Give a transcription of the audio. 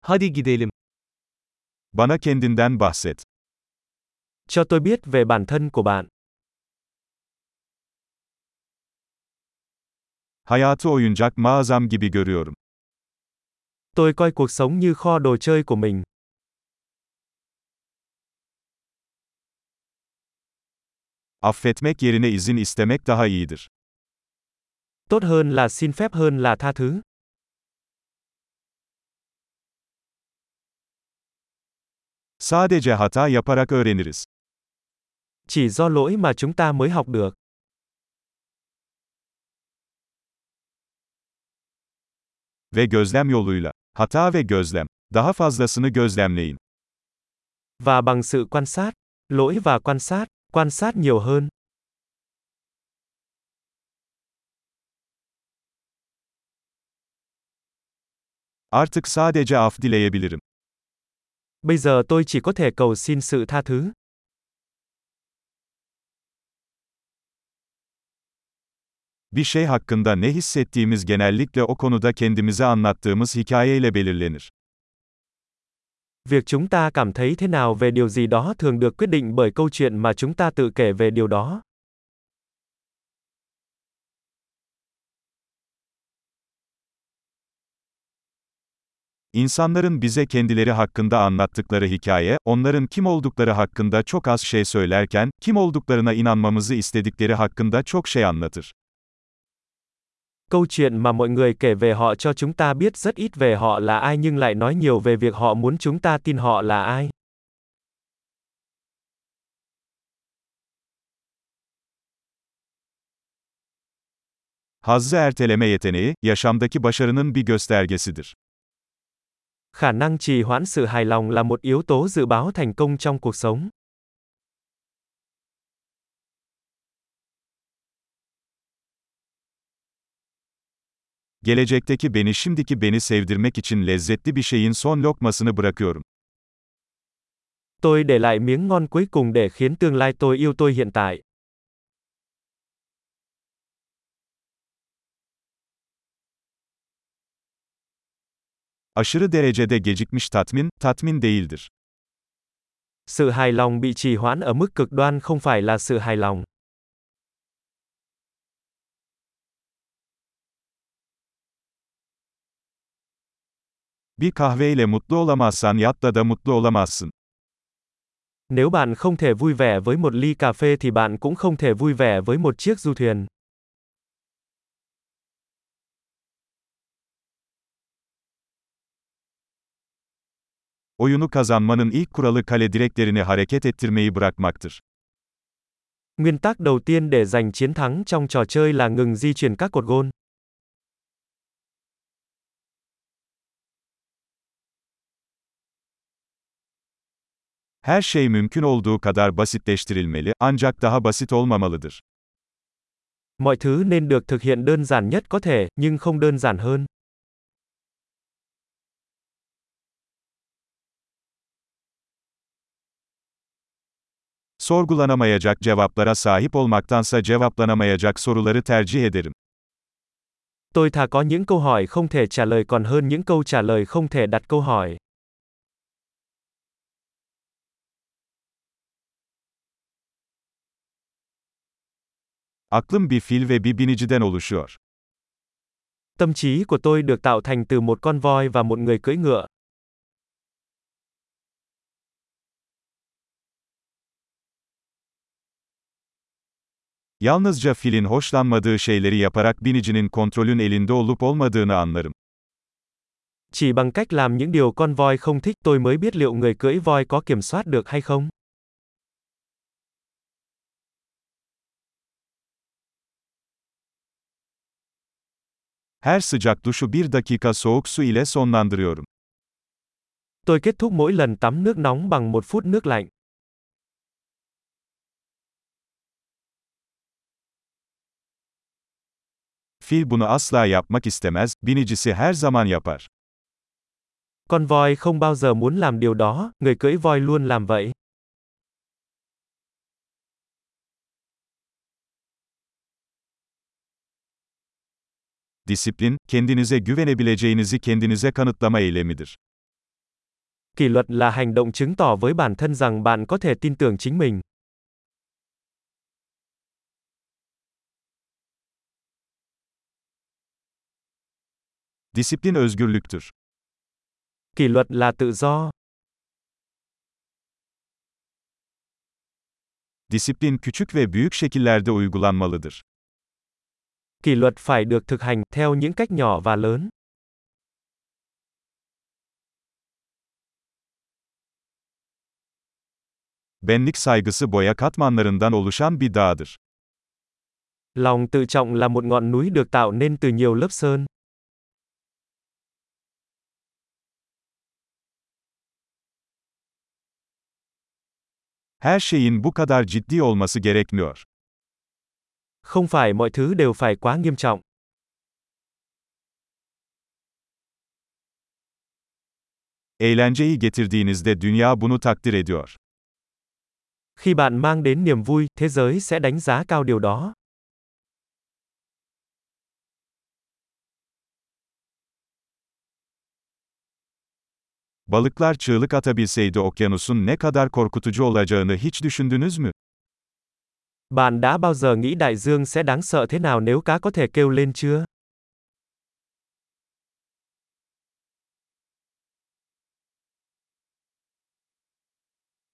Hadi gidelim. Bana kendinden bahset. Cho tôi biết về bản thân của bạn. Hayatı oyuncak mağazam gibi görüyorum. Tôi coi cuộc sống như kho đồ chơi của mình. Affetmek yerine izin istemek daha iyidir. Tốt hơn là xin phép hơn là tha thứ. Sadece hata yaparak öğreniriz. Chỉ do lỗi mà chúng ta mới học được. Ve gözlem yoluyla. Hata ve gözlem. Daha fazlasını gözlemleyin. Và bằng sự lỗi và quan sát nhiều hơn. Artık sadece af dileyebilirim. Bây giờ tôi chỉ có thể cầu xin sự tha thứ. Bir şey hakkında ne hissettiğimiz genellikle o konuda kendimize anlattığımız hikayeyle belirlenir. Việc chúng ta cảm thấy thế nào về điều gì đó thường được quyết định bởi câu chuyện mà chúng ta tự kể về điều đó. İnsanların bize kendileri hakkında anlattıkları hikaye, onların kim oldukları hakkında çok az şey söylerken, kim olduklarına inanmamızı istedikleri hakkında çok şey anlatır. Câu chuyện mà mọi người kể về họ cho chúng ta biết rất ít về họ là ai nhưng lại nói nhiều về việc họ muốn chúng ta tin họ là ai. Hazzı erteleme yeteneği, yaşamdaki başarının bir göstergesidir. Khả năng trì hoãn sự hài lòng là một yếu tố dự báo thành công trong cuộc sống. Gelecekteki beni şimdiki beni sevdirmek için lezzetli bir şeyin son lokmasını bırakıyorum. Tôi để lại miếng ngon cuối cùng để khiến tương lai tôi yêu tôi hiện tại. Aşırı derecede gecikmiş tatmin, tatmin değildir. Sự hài lòng bị trì hoãn ở mức cực đoan không phải là sự hài lòng. Bir kahveyle mutlu olamazsan yatta da mutlu olamazsın. Nếu bạn không thể vui vẻ với một ly cà phê thì bạn cũng không thể vui vẻ với một chiếc du thuyền. Oyunu kazanmanın ilk kuralı kale direklerini hareket ettirmeyi bırakmaktır. Nguyên tắc đầu tiên để giành chiến thắng trong trò chơi là ngừng di chuyển các cột gôn. Her şey mümkün olduğu kadar basitleştirilmeli, ancak daha basit olmamalıdır. Mọi thứ nên được thực hiện đơn giản nhất có thể, nhưng không đơn giản hơn. Sorgulanamayacak cevaplara sahip olmaktansa cevaplanamayacak soruları tercih ederim. Tôi thà có những câu hỏi không thể trả lời còn hơn những câu trả lời không thể đặt câu hỏi. Aklım bir fil ve bir biniciden oluşuyor. Tâm trí của tôi được tạo thành từ một con voi và một người cưỡi ngựa. Yalnızca filin hoşlanmadığı şeyleri yaparak binicinin kontrolün elinde olup olmadığını anlarım. Chỉ bằng cách làm những điều con voi không thích tôi mới biết liệu người cưỡi voi có kiểm soát được hay không. Her sıcak duşu bir dakika soğuk su ile sonlandırıyorum. Tôi kết thúc mỗi lần tắm nước nóng bằng 1 phút nước lạnh. Fil bunu asla yapmak istemez, binicisi her zaman yapar. Con voi không bao giờ muốn làm điều đó, người cưỡi voi luôn làm vậy. Disiplin, kendinize güvenebileceğinizi kendinize kanıtlama eylemidir. Kỷ luật là hành động chứng tỏ với bản thân rằng bạn có thể tin tưởng chính mình. Disiplin özgürlüktür. Kỷ luật là tự do. Disiplin küçük ve büyük şekillerde uygulanmalıdır. Kỷ luật phải được thực hành theo những cách nhỏ và lớn. Benlik saygısı boya katmanlarından oluşan bir dağdır. Lòng tự trọng là một ngọn núi được tạo nên từ nhiều lớp sơn. Her şeyin bu kadar ciddi olması gerekmiyor. Không phải mọi thứ đều phải quá nghiêm trọng. Eğlenceyi getirdiğinizde dünya bunu takdir ediyor. Khi bạn mang đến niềm vui, thế giới sẽ đánh giá cao điều đó. Balıklar çığlık atabilseydi okyanusun ne kadar korkutucu olacağını hiç düşündünüz mü? Bạn đã bao giờ nghĩ đại dương sẽ đáng sợ thế nào nếu cá có thể kêu lên chưa?